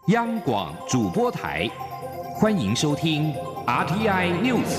央广主播台，欢迎收听 RTI News。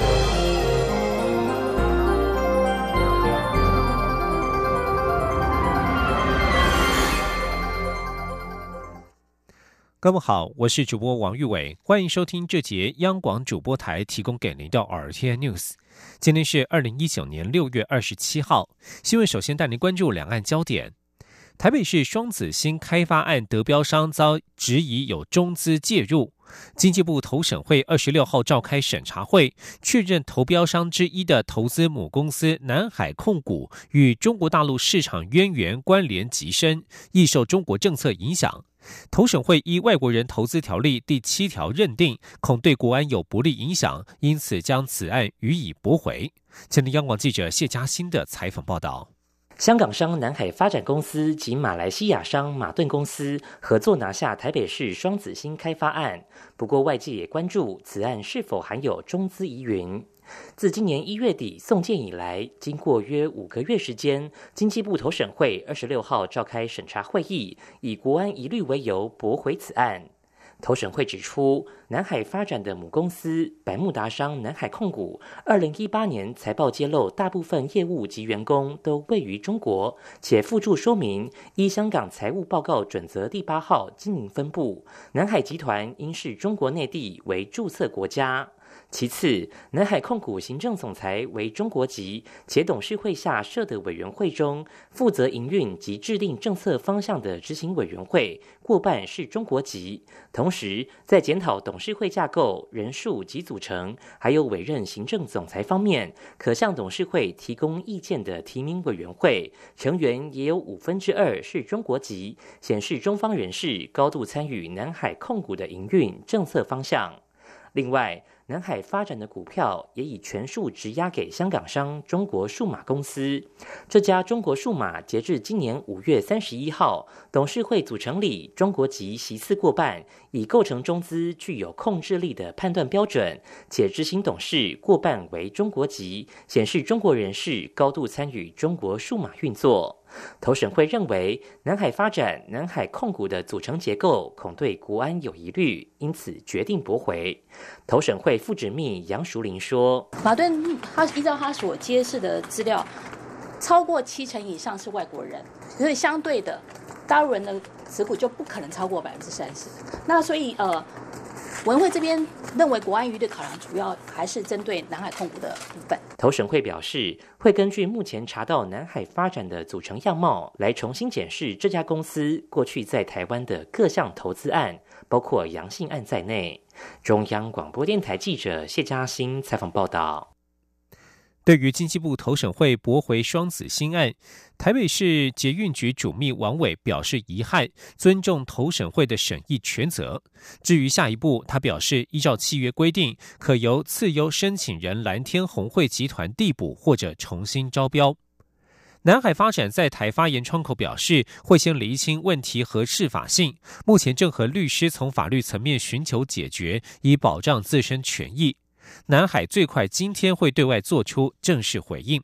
各位好，我是主播王玉伟，欢迎收听这节央广主播台提供给您的 RTI News。今天是2019年6月27号，新闻首先带您关注两岸焦点。台北市双子星开发案得标商遭质疑有中资介入，经济部投审会26号召开审查会，确认投标商之一的投资母公司南海控股与中国大陆市场渊源关联极深，易受中国政策影响。投审会依外国人投资条例第7条认定，恐对国安有不利影响，因此将此案予以驳回。前听央广记者谢嘉欣的采访报道。 香港商南海发展公司及马来西亚商马顿公司合作拿下台北市双子星开发案，不过外界也关注此案是否含有中资疑云。自今年1月底送件以来，经过约5个月时间，经济部投审会26号召开审查会议，以国安疑虑为由驳回此案。投审会指出，南海发展的母公司百慕达商南海控股2018年财报揭露，大部分业务及员工都位于中国，且附注说明依香港财务报告准则第8号经营分部，南海集团应视中国内地为注册国家。其次，南海控股行政总裁为中国籍，且董事会下设的委员会中，负责营运及制定政策方向的执行委员会过半是中国籍。同时，在检讨董事会架构、人数及组成，还有委任行政总裁方面，可向董事会提供意见的提名委员会成员也有2/5是中国籍，显示中方人士高度参与南海控股的营运政策方向。另外，南海发展的股票也已全数质押给香港商中国数码公司。这家中国数码截至今年5月31号，董事会组成里中国籍席次过半，以构成中资具有控制力的判断标准，且执行董事过半为中国籍，显示中国人士高度参与中国数码运作。投审会认为，南海发展、南海控股的组成结构恐对国安有疑虑，因此决定驳回。投审会副执秘杨淑玲说：“ 马顿他依照他所揭示的资料，超过70%以上是外国人，所以相对的，大陆人的持股就不可能超过30%。那所以委员会这边认为国安疑虑考量主要还是针对南海控股的部分。 投审会表示，会根据目前查到南海发展的组成样貌，来重新检视这家公司过去在台湾的各项投资案，包括阳性案在内。中央广播电台记者谢嘉欣采访报道。 对于经济部投审会驳回双子星案，台北市捷运局主秘王伟表示遗憾，尊重投审会的审议权责。至于下一步，他表示依照契约规定，可由次优申请人蓝天红会集团递补或者重新招标。南海发展在台发言窗口表示，会先厘清问题合适法性，目前正和律师从法律层面寻求解决，以保障自身权益。南海最快今天会对外做出正式回应。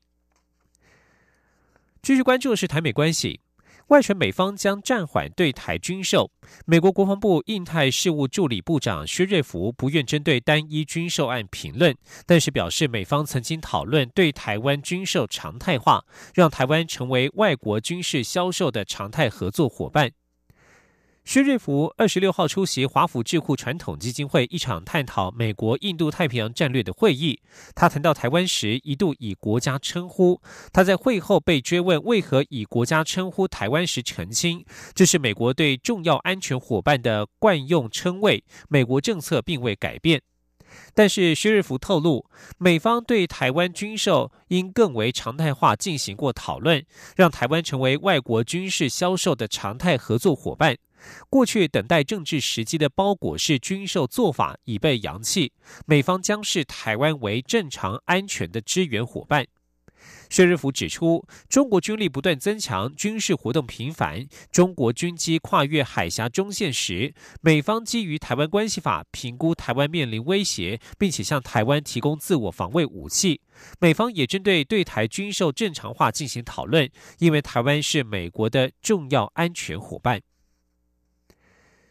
继续关注的是台美关系，外传美方将暂缓对台军售。美国国防部印太事务助理部长薛瑞福不愿针对单一军售案评论，但是表示美方曾经讨论对台湾军售常态化，让台湾成为外国军事销售的常态合作伙伴。薛瑞福26号出席华府智库传统基金会一场探讨美国印度太平洋战略的会议，他谈到台湾时一度以国家称呼，他在会后被追问为何以国家称呼台湾时澄清，这是美国对重要安全伙伴的惯用称谓，美国政策并未改变。但是薛瑞福透露，美方对台湾军售应更为常态化进行过讨论，让台湾成为外国军事销售的常态合作伙伴。过去等待政治时机的包裹式军售做法已被扬弃，美方将视台湾为正常安全的支援伙伴。薛瑞福指出，中国军力不断增强，军事活动频繁，中国军机跨越海峡中线时，美方基于台湾关系法评估台湾面临威胁，并且向台湾提供自我防卫武器。美方也针对对台军售正常化进行讨论，因为台湾是美国的重要安全伙伴。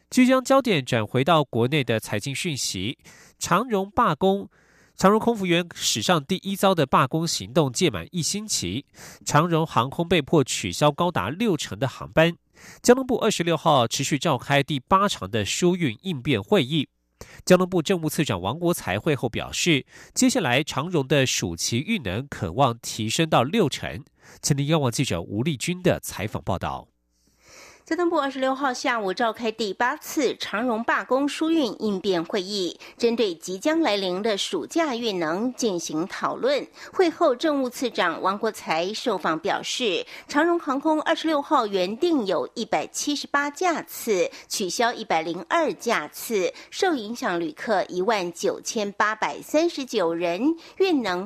即将焦点转回到国内的财经讯息，长荣罢工。长荣空服员史上第一遭的罢工行动届满1星期，长荣航空被迫取消高达60%的航班。交通部26号持续召开第8场的疏运应变会议。交通部政务次长王国材会后表示，接下来长荣的暑期运能可望提升到60%。前天央广记者吴丽君的采访报道。 交通部26号下午召开第8次长荣罢工疏运应变会议，针对即将来临的暑假运能进行讨论。会后，政务次长王国材受访表示，长荣航空26号原定有178架次，取消102架次，受影响旅客19839人，运能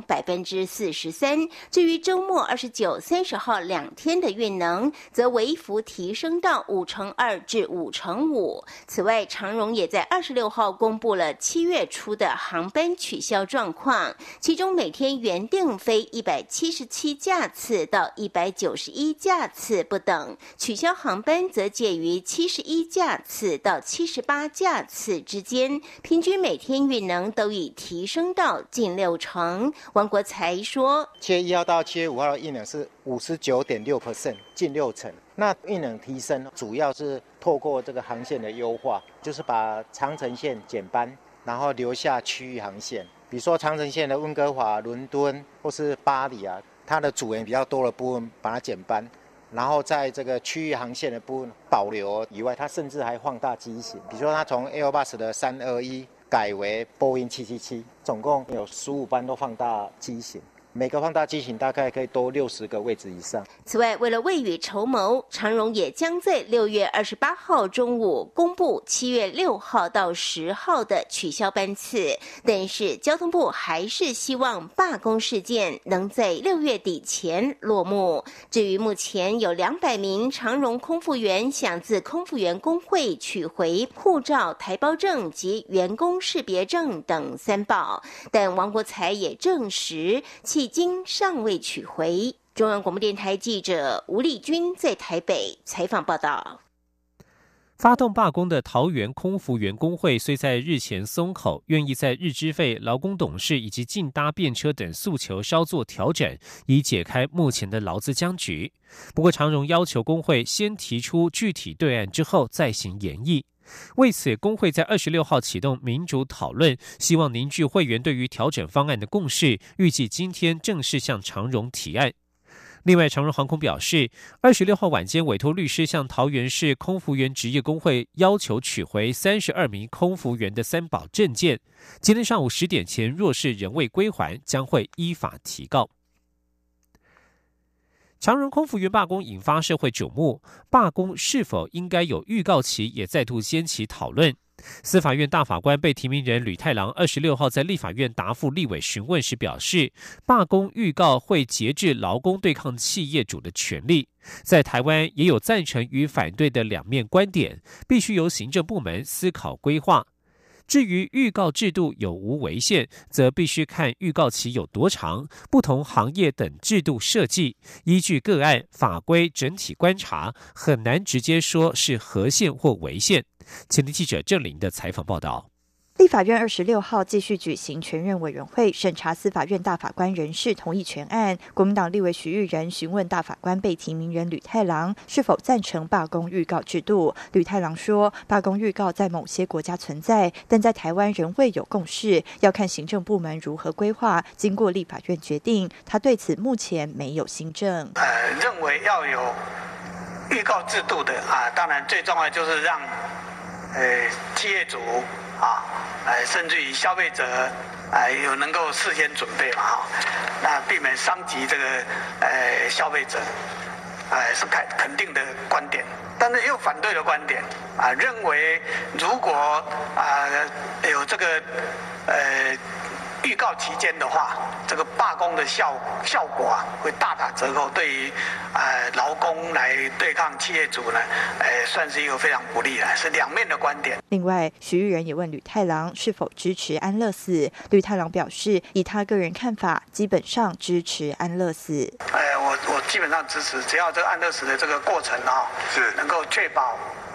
43%。至于周末29、30号2天的运能，则微幅提升到5%至5%。此外，长荣也在26号公布了7月初的航班取消状况，其中每天原定飞177架次到191架次不等，取消航班则介于71架次到78架次之间，平均每天运能都已提升到近60%。王国材说 ，7月1号到7月5号的运能是59.6%，近60%。那运能提升主要是透过这个航线的优化，就是把长程线减班，然后留下区域航线。比如说长程线的温哥华、伦敦或是巴黎啊，它的组员比较多的部分把它减班，然后在这个区域航线的部分保留以外，它甚至还放大机型。比如说它从 Airbus 的321改为波音777，总共有15班都放大机型。每个放大机型大概可以多60个位置以上。 此外，为了未雨绸缪，长荣也将在6月28号中午公布7月6号到10号的取消班次，但是交通部还是希望罢工事件能在6月底前落幕。至于目前有200名长荣空服员想自空服员工会取回护照、台胞证及员工识别证等3宝，但王国材也证实迄今尚未取回。中央广播电台记者吴丽君在台北采访报道。 发动罢工的桃园空服员工会虽在日前松口，愿意在日资费、劳工董事以及竞搭便车等诉求稍作调整，以解开目前的劳资僵局。不过长荣要求工会先提出具体对案之后再行研议。为此，工会在26号启动民主讨论，希望凝聚会员对于调整方案的共识，预计今天正式向长荣提案。另外，长荣航空表示，26号晚间委托律师向桃园市空服员职业工会要求取回32名空服员的3宝证件，今天上午10点前若是仍未归还，将会依法提告。长荣空服员罢工引发社会瞩目，罢工是否应该有预告期也再度掀起讨论。司法院大法官被提名人吕太郎26号在立法院答复立委询问时表示，罢工预告会节制劳工对抗企业主的权利。在台湾也有赞成与反对的两面观点，必须由行政部门思考规划。至于预告制度有无违宪，则必须看预告期有多长，不同行业等制度设计，依据个案法规整体观察，很难直接说是合宪或违宪。前天记者郑玲的采访报道。 立法院26号继续举行全院委员会审查司法院大法官人事同意权案，国民党立委徐玉仁询问大法官被提名人吕太郎是否赞成罢工预告制度。吕太郎说，罢工预告在某些国家存在，但在台湾仍未有共识，要看行政部门如何规划，经过立法院决定，他对此目前没有新政。 认为要有预告制度的当然最重要就是让企业主甚至于消费者有能够事先准备嘛那避免伤及这个消费者是肯定的观点，但是也有反对的观点认为如果有这个预告期间的话，这个罢工的效果会大打折扣，对于劳工来对抗企业主呢，算是一个非常不利的，是两面的观点。 另外，徐玉仁也问吕太郎是否支持安乐死，吕太郎表示，以他个人看法，基本上支持安乐死。 我基本上支持，只要这个安乐死的这个过程是能够确保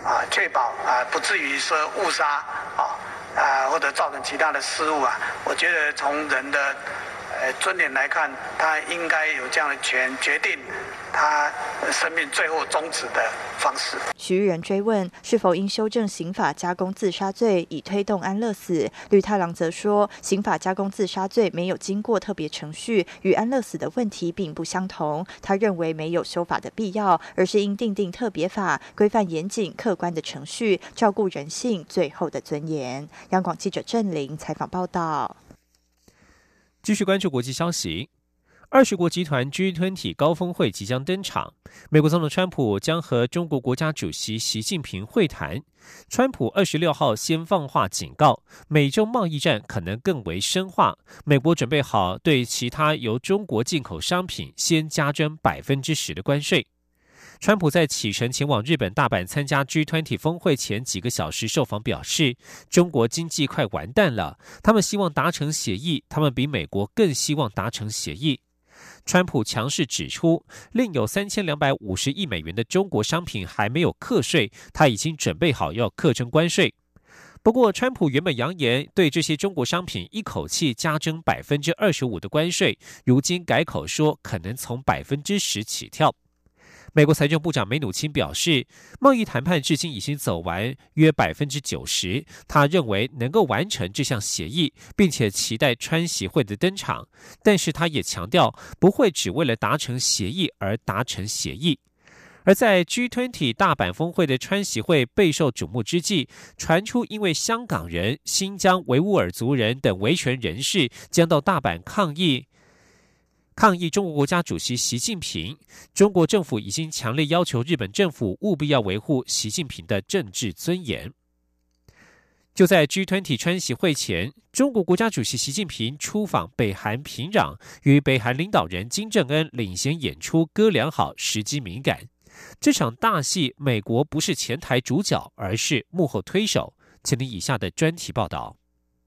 确保不至于说误杀或者造成其他的失误我觉得从人的尊严来看，他应该有这样的权决定他生命最后终止的方式。 徐玉仁追问是否应修正刑法加工自杀罪，以推动安乐死，吕太郎则说，刑法加工自杀罪没有经过特别程序，与安乐死的问题并不相同。他认为没有修法的必要，而是应订定特别法，规范严谨客观的程序，照顾人性最后的尊严。央广记者郑玲采访报道。 继续关注国际消息，20国集团 G20 高峰会即将登场。美国总统川普将和中国国家主席习近平会谈。川普26号先放话警告，美中贸易战可能更为深化。美国准备好对其他由中国进口商品先加征 10% 的关税。川普在启程前往日本大阪参加 G20 峰会前几个小时受访表示，中国经济快完蛋了，他们希望达成协议，他们比美国更希望达成协议。川普强势指出，另有3250亿美元的中国商品还没有课税，他已经准备好要课征关税。不过，川普原本扬言对这些中国商品一口气加征 25% 的关税，如今改口说可能从 10% 起跳。美国财政部长梅努钦表示，贸易谈判至今已经走完约 90%， 他认为能够完成这项协议，并且期待川习会的登场。但是他也强调，不会只为了达成协议而达成协议。而在 G20 大阪峰会的川习会备受瞩目之际，传出因为香港人、新疆维吾尔族人等维权人士将到大阪抗议中国国家主席习近平，中国政府已经强烈要求日本政府务必要维护习近平的政治尊严。就在 G20 川习会前，中国国家主席习近平出访北韩平壤，与北韩领导人金正恩领衔演出歌良好，时机敏感。这场大戏，美国不是前台主角，而是幕后推手。请听以下的专题报道。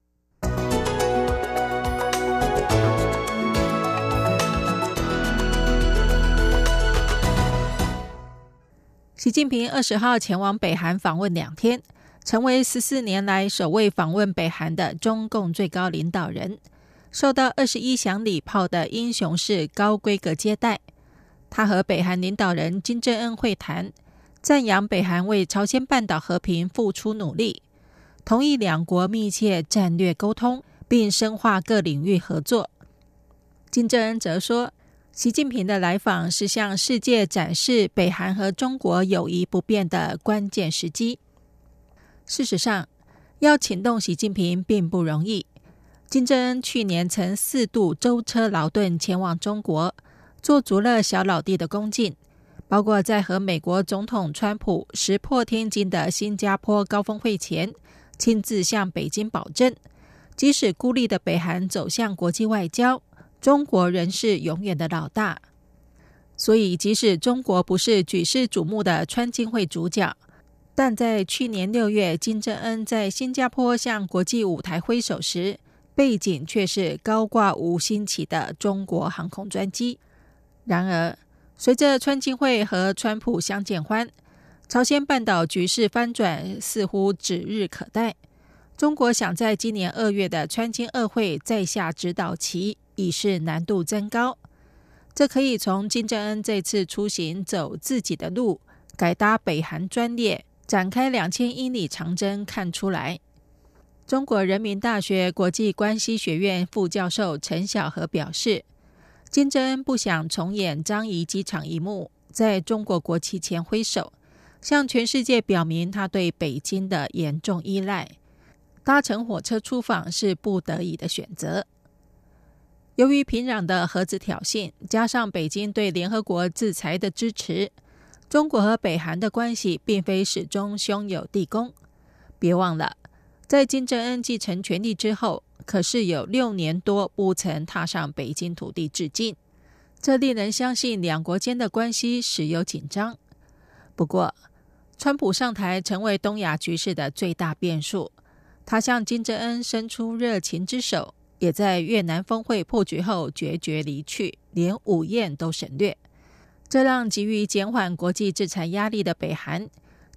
习近平20号前往北韩访问2天，成为14年来首位访问北韩的中共最高领导人，受到21响礼炮的英雄式高规格接待。他和北韩领导人金正恩会谈，赞扬北韩为朝鲜半岛和平付出努力，同意两国密切战略沟通，并深化各领域合作。金正恩则说，习近平的来访是向世界展示北韩和中国友谊不变的关键时机。事实上，要请动习近平并不容易。金正恩去年曾4度舟车劳顿前往中国，做足了小老弟的恭敬，包括在和美国总统川普石破天惊的新加坡高峰会前，亲自向北京保证，即使孤立的北韩走向国际外交，中国仍是永远的老大。所以即使中国不是举世瞩目的川金会主角，但在去年6月金正恩在新加坡向国际舞台挥手时，背景却是高挂5星旗的中国航空专机。然而随着川金会和川普相见欢，朝鲜半岛局势翻转似乎指日可待。中国想在今年2月的川金2会再下指导棋，已是难度增高。这可以从金正恩这次出行走自己的路，改搭北韩专列，展开2000英里长征看出来。中国人民大学国际关系学院副教授陈晓和表示，金正恩不想重演樟宜机场一幕，在中国国旗前挥手，向全世界表明他对北京的严重依赖。搭乘火车出访是不得已的选择。由于平壤的核子挑衅，加上北京对联合国制裁的支持，中国和北韩的关系并非始终兄友弟恭。别忘了，在金正恩继承权力之后，可是有6年多不曾踏上北京土地致敬，这令人相信两国间的关系时有紧张。不过，川普上台成为东亚局势的最大变数，他向金正恩伸出热情之手，也在越南峰会破局后决绝离去，连午宴都省略。这让急于减缓国际制裁压力的北韩，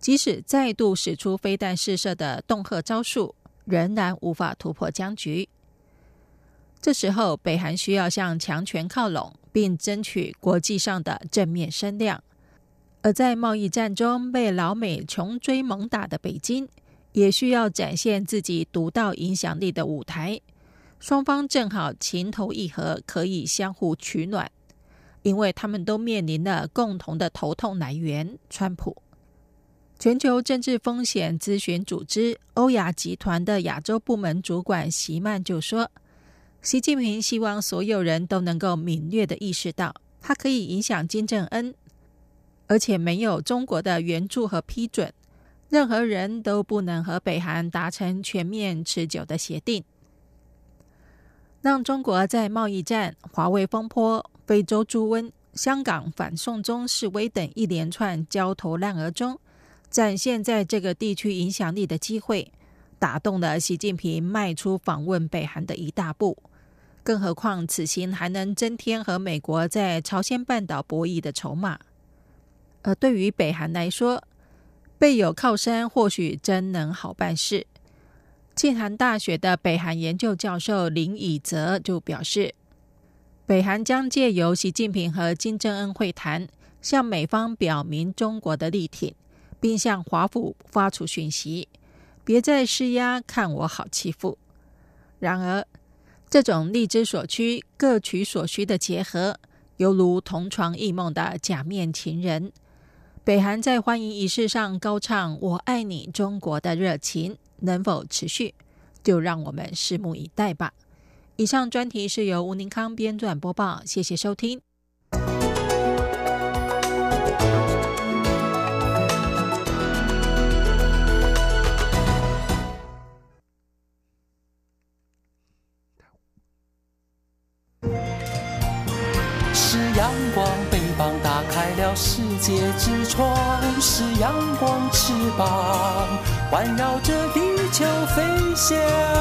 即使再度使出飞弹试射的恫吓招数，仍然无法突破僵局。这时候，北韩需要向强权靠拢，并争取国际上的正面声量。而在贸易战中被老美穷追猛打的北京，也需要展现自己独到影响力的舞台。双方正好情投意合，可以相互取暖，因为他们都面临了共同的头痛来源——川普。全球政治风险咨询组织欧亚集团的亚洲部门主管席曼就说，习近平希望所有人都能够敏锐地意识到，他可以影响金正恩，而且没有中国的援助和批准，任何人都不能和北韩达成全面持久的协定。让中国在贸易战、华为风波、非洲猪瘟、香港反送中示威等一连串焦头烂额中，展现在这个地区影响力的机会，打动了习近平迈出访问北韩的一大步。更何况此行还能增添和美国在朝鲜半岛博弈的筹码。而对于北韩来说，备有靠山或许真能好办事。庆涵大学的北韩研究教授林以泽就表示，北韩将借由习近平和金正恩会谈，向美方表明中国的力挺，并向华府发出讯息，别再施压，看我好欺负。然而，这种力之所趋，各取所需的结合，犹如同床异梦的假面情人。北韩在欢迎仪式上高唱我爱你中国的热情能否持续，就让我们拭目以待吧。以上专题是由吴宁康编撰播报，谢谢收听。 是阳光，北方打开了世界之窗，是阳光翅膀环绕着地球飞翔。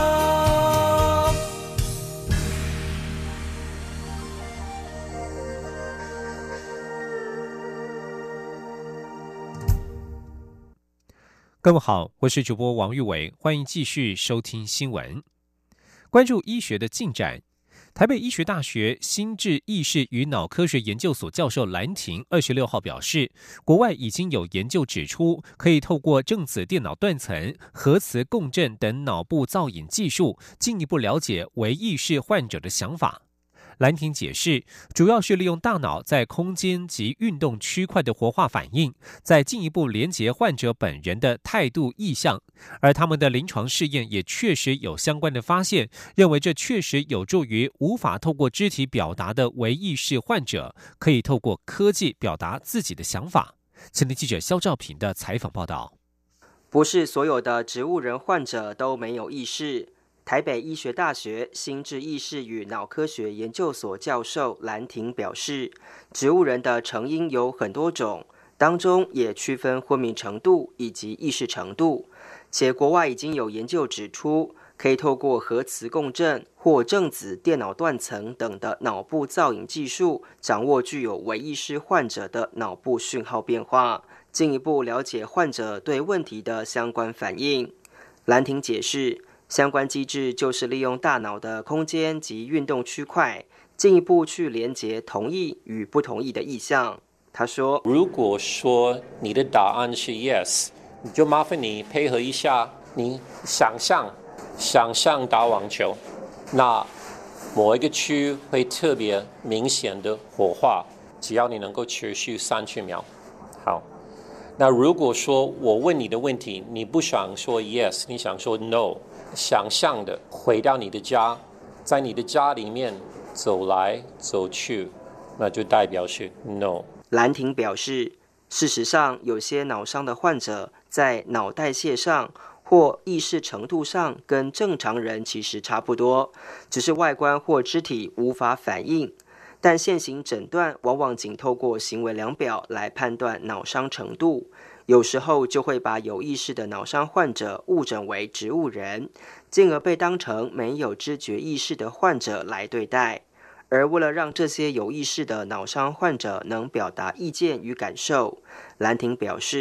各位好，我是主播王玉伟，欢迎继续收听新闻。关注医学的进展，台北医学大学心智意识与脑科学研究所教授兰亭26号表示，国外已经有研究指出，可以透过正子电脑断层、核磁共振等脑部造影技术，进一步了解微意识患者的想法。兰亭解释，主要是利用大脑在空间及运动区块的活化反应，再进一步连结患者本人的态度意向，而他们的临床试验也确实有相关的发现，认为这确实有助于无法透过肢体表达的微意识患者，可以透过科技表达自己的想法。前天记者肖兆平的采访报道。 不是所有的植物人患者都没有意识。台北医学大学心智意识与脑科学研究所教授兰亭表示，植物人的成因有很多种，当中也区分昏迷程度以及意识程度，且国外已经有研究指出，可以透过核磁共振或正子电脑断层等的脑部造影技术，掌握具有微意识患者的脑部讯号变化，进一步了解患者对问题的相关反应。兰亭解释，相关机制就是利用大脑的空间及运动区块，进一步去连结同意与不同意的意向。他说， 如果说你的答案是 yes， 你就麻烦你配合一下，你想象打网球，那某一个区会特别明显的火化，只要你能够持续30秒。好，那如果说我问你的问题，你不想说 yes， 你想说 no，想象的回到你的家，在你的家里面走来走去，那就代表是 no。 兰亭表示，事实上有些脑伤的患者在脑代谢上或意识程度上跟正常人其实差不多，只是外观或肢体无法反应，但现行诊断往往仅透过行为量表来判断脑伤程度，有时候就会把有意识的脑伤患者误诊为植物人，进而被当成没有知觉意识的患者来对待。而为了让这些有意识的脑伤患者能表达意见与感受，兰亭表示，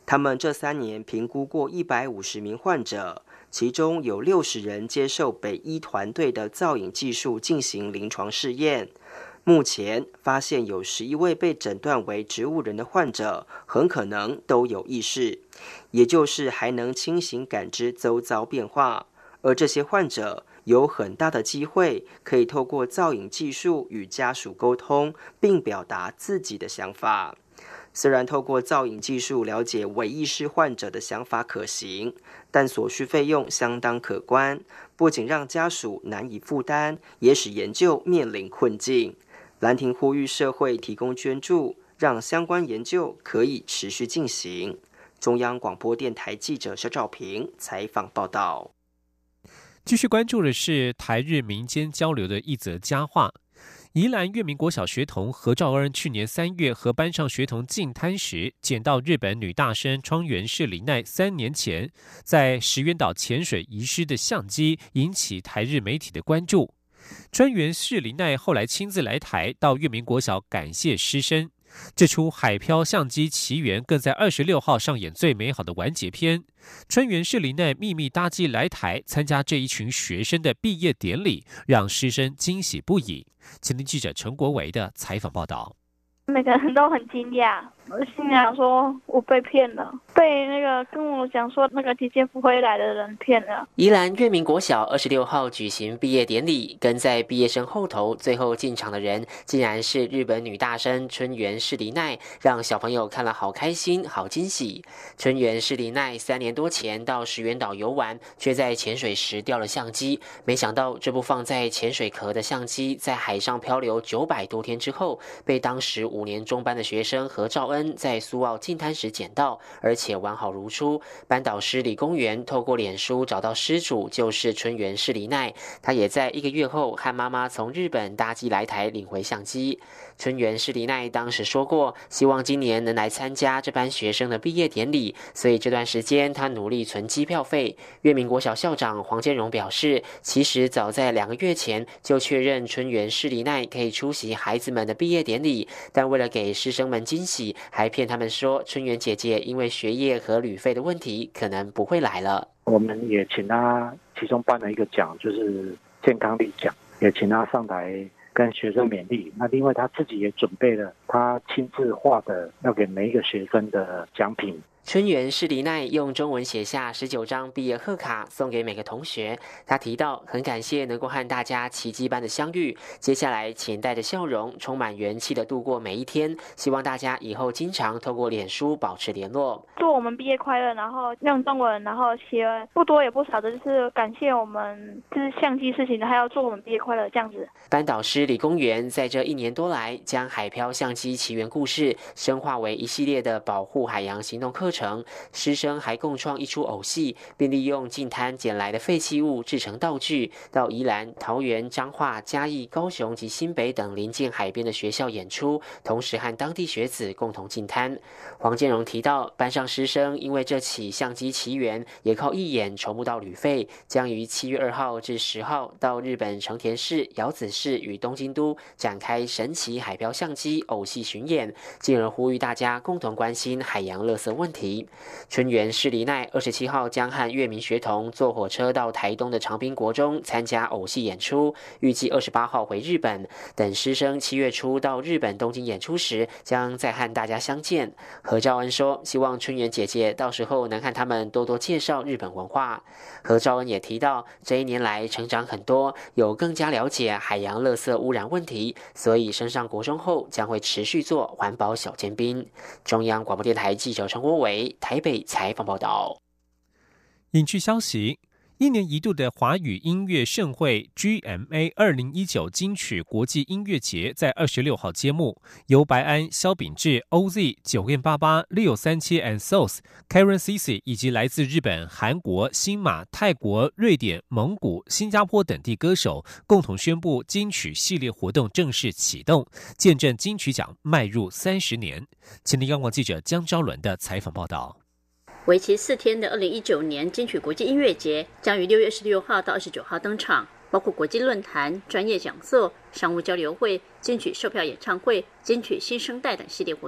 他们这3年评估过150名患者，其中有60人接受北医团队的造影技术进行临床试验。目前发现有11位被诊断为植物人的患者，很可能都有意识，也就是还能清醒感知周遭变化。而这些患者有很大的机会可以透过造影技术与家属沟通，并表达自己的想法。虽然透过造影技术了解伪意识患者的想法可行，但所需费用相当可观，不仅让家属难以负担，也使研究面临困境。兰亭呼吁社会提供捐助，让相关研究可以持续进行。中央广播电台记者肖兆平采访报道。 继续关注的是台日民间交流的一则佳话。宜兰月明国小学童何兆恩去年3月和班上学童进滩时，捡到日本女大生川原市里奈3年前在石垣岛潜水遗失的相机，引起台日媒体的关注。川原市里奈后来亲自来台到月明国小感谢师生。这出海漂相机奇缘更在26号上演最美好的完结篇。川原市里奈秘密搭机来台参加这一群学生的毕业典礼，让师生惊喜不已。前天记者陈国维的采访报道。 每个人都很惊讶，我心想说我被骗了，被那个跟我讲说那个姐姐不会来的人骗了。 宜兰月明国小26号举行毕业典礼，跟在毕业生后头最后进场的人，竟然是日本女大生春原市里奈，让小朋友看了好开心好惊喜。春原市里奈3年多前到石垣岛游玩，却在潜水时掉了相机，没想到这部放在潜水壳的相机在海上漂流900多天之后，被当时5年中班的学生何兆恩在苏澳进滩时捡到，而且完好如初。班导师李公园透过脸书找到失主，就是春原市里奈，他也在1个月后和妈妈从日本搭机来台领回相机。春原市里奈当时说过，希望今年能来参加这班学生的毕业典礼，所以这段时间他努力存机票费。月明国小校长黄建荣表示，其实早在2个月前就确认春原市里奈可以出席孩子们的毕业典礼，但为了给师生们惊喜，还骗他们说春原姐姐因为学业和旅费的问题可能不会来了。 我们也请他其中办了一个奖，就是健康力奖，也请他上台跟学生勉励。那另外他自己也准备了他亲自画的要给每一个学生的奖品。 春原市里奈用中文写下19张毕业贺卡送给每个同学。他提到很感谢能够和大家奇迹般的相遇，接下来请带着笑容充满元气的度过每一天，希望大家以后经常透过脸书保持联络。 祝我们毕业快乐，然后用中文，然后写不多也不少的就是感谢我们就是相机事情的，还要祝我们毕业快乐这样子。 班导师李公园在这1年多来将海漂相机奇缘故事深化为一系列的保护海洋行动课程，师生还共创一出偶戏，并利用净滩捡来的废弃物制成道具，到宜兰、桃园、彰化、嘉义、高雄及新北等邻近海边的学校演出，同时和当地学子共同净滩。黄建荣提到，班上师生因为这起相机奇缘，也靠义演筹募到旅费，将于7月2号至10号到日本成田市、瑶子市与东京都展开神奇海漂相机偶戏巡演，进而呼吁大家共同关心海洋垃圾问题。春原市里奈27号将和月明学童坐火车到台东的长滨国中参加偶戏演出，预计28号回日本。等师生7月初到日本东京演出时，将再和大家相见。何兆恩说，希望春原姐姐到时候能和他们多多介绍日本文化。何兆恩也提到，这1年来成长很多，有更加了解海洋垃圾污染问题，所以升上国中后将会持续做环保小尖兵。中央广播电台记者陈国伟台北采访报道。 影剧消息，1年一度的华语音乐盛会 GMA 2019金曲国际音乐节在26号揭幕，由白安、萧秉治、OZ、9m88、637 and Souls、Karen CC 以及来自日本、韩国、新马、泰国、瑞典、蒙古、新加坡等地歌手共同宣布金曲系列活动正式启动，见证金曲奖迈入30年。前天央广记者江昭伦的采访报道。 为期4天的2019年金曲国际音乐节将于6月16号到29号登场，包括国际论坛、专业讲座、商务交流会、金曲售票演唱会、金曲新生代等系列活动。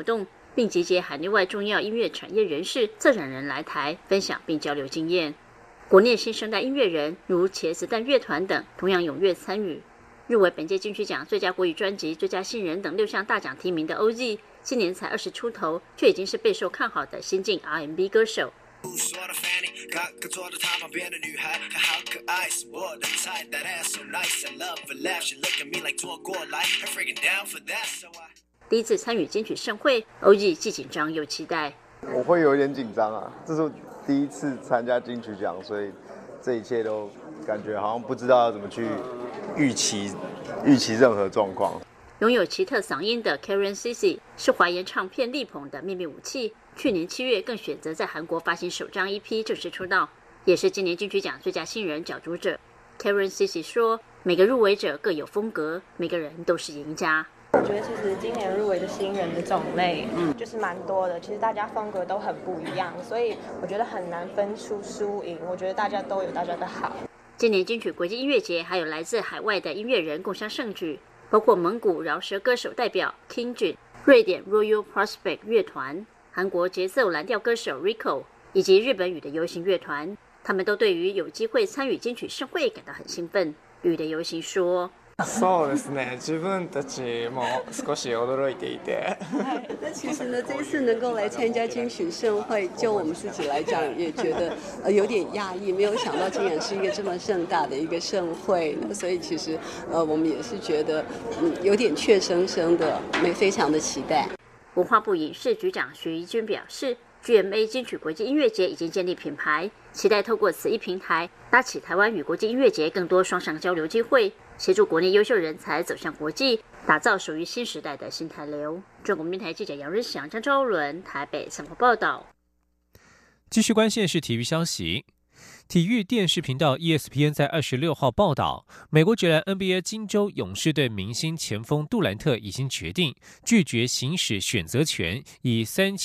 并集结海内外重要音乐产业人士、策展人来台分享并交流经验。国内新生代音乐人如茄子蛋乐团等同样踊跃参与。入围本届金曲奖最佳国语专辑、最佳新人等6项大奖提名的 OZ， 今年才20出头，却已经是备受看好的新晋 R&B 歌手。第一次参与金曲盛会 ，OZ 既紧张又期待。 我会有一点紧张啊，这是第一次参加金曲奖，所以这一切都感觉好像不知道要怎么去预期任何状况。 拥有奇特嗓音的 Karen Cici 是华研唱片力捧的秘密武器。去年7月更选择在韩国发行首张 EP 正式出道，也是今年金曲奖最佳新人角逐者。Karen Cici 说：“每个入围者各有风格，每个人都是赢家。” 我觉得其实今年入围的新人的种类，就是蛮多的。其实大家风格都很不一样，所以我觉得很难分出输赢。我觉得大家都有大家的好。 今年金曲国际音乐节还有来自海外的音乐人共襄盛举，包括蒙古饶舌歌手代表 King Jun、瑞典 Royal Prospect 乐团、韩国节奏蓝调歌手 Rico 以及日本语的游行乐团，他们都对于有机会参与金曲盛会感到很兴奋。语的游行说。 そうですね。自分たちも少し驚いていて。 那其实呢，这一次能够来参加金曲盛会，就我们自己来讲，也觉得有点讶异，没有想到竟然是一个这么盛大的一个盛会呢。所以其实我们也是觉得有点怯生生的，非常的期待。 文化部影视局长徐怡君表示。GMA 金曲国际音乐节已经建立品牌，期待透过此一平台，搭起台湾与国际音乐节更多双向交流机会，协助国内优秀人才走向国际，打造属于新时代的新台流。中国电台记者杨日祥、张昭伦台北采访报道。 继续关心的是体育消息。体育电视频道 ESPN 在26号报道，美国职篮 NBA 金州勇士队明星前锋杜兰特已经决定拒绝行使选择权，以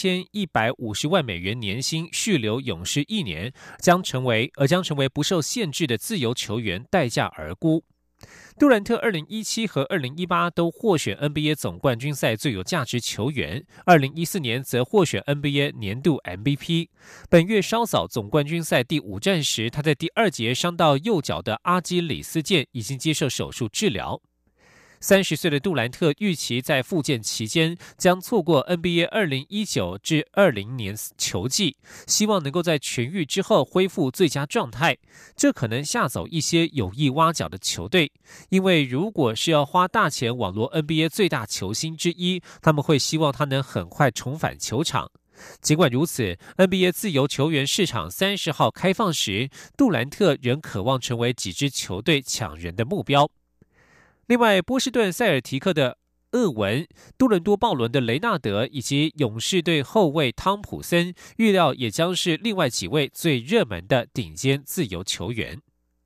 $3150万年薪续留勇士1年，将成为不受限制的自由球员，待价而沽。杜兰特2017和2018都获选 NBA 总冠军赛最有价值球员，2014年则获选 NBA 年度 MVP。本月稍早总冠军赛第5战时，他在第2节伤到右脚的阿基里斯腱，已经接受手术治疗。30岁的杜兰特预期在复健期间将错过 NBA 2019至20年球季，希望能够在痊愈之后恢复最佳状态。这可能吓走一些有意挖角的球队，因为如果是要花大钱网罗 NBA 最大球星之一，他们会希望他能很快重返球场。尽管如此 ，NBA 自由球员市场30号开放时，杜兰特仍渴望成为几支球队抢人的目标。另外，波士顿塞尔提克的厄文、多伦多暴龙的雷纳德以及勇士队后卫汤普森，预料也将是另外几位最热门的顶尖自由球员。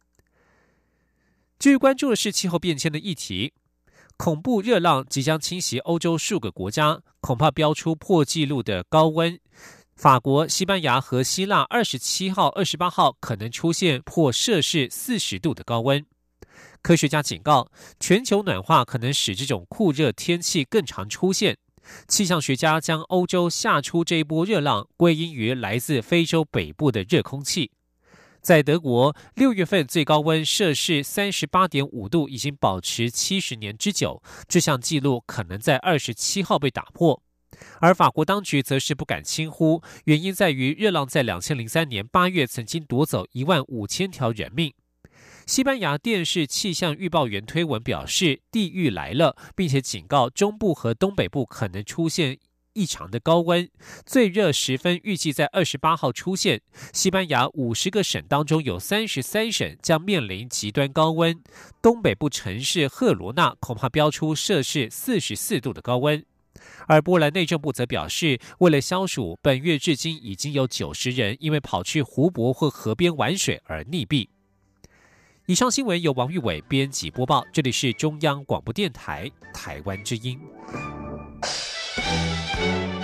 至于关注的是气候变迁的议题，恐怖热浪即将侵袭欧洲数个国家，恐怕飙出破纪录的高温。法国、西班牙和希腊27号、28号可能出现破摄氏40度的高温。科学家警告，全球暖化可能使这种酷热天气更常出现。气象学家将欧洲吓出这一波热浪归因于来自非洲北部的热空气。在德国，6月份最高温摄氏38.5度已经保持70年之久，这项纪录可能在27号被打破。而法国当局则是不敢轻忽，原因在于热浪在2003年8月曾经夺走15000条人命。西班牙电视气象预报员推文表示，地狱来了，并且警告中部和东北部可能出现异常的高温，最热时分预计在28号出现。西班牙50个省当中有33省将面临极端高温，东北部城市赫罗纳恐怕飙出摄氏44度的高温。而波兰内政部则表示，为了消暑，本月至今已经有90人因为跑去湖泊或河边玩水而溺毙。以上新闻由王玉伟编辑播报，这里是中央广播电台台湾之音。